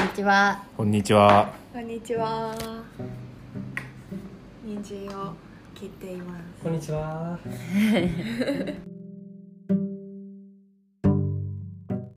ちは。 こんにちは。 こんにちは。人参を切っています。 こんにちは。